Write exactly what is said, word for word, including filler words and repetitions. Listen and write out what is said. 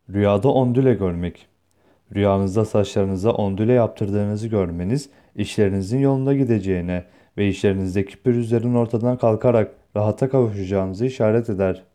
Rüyada ondüle görmek. Rüyanızda saçlarınıza ondüle yaptırdığınızı görmeniz, işlerinizin yolunda gideceğine ve işlerinizdeki pürüzlerin ortadan kalkarak rahata kavuşacağınızı işaret eder.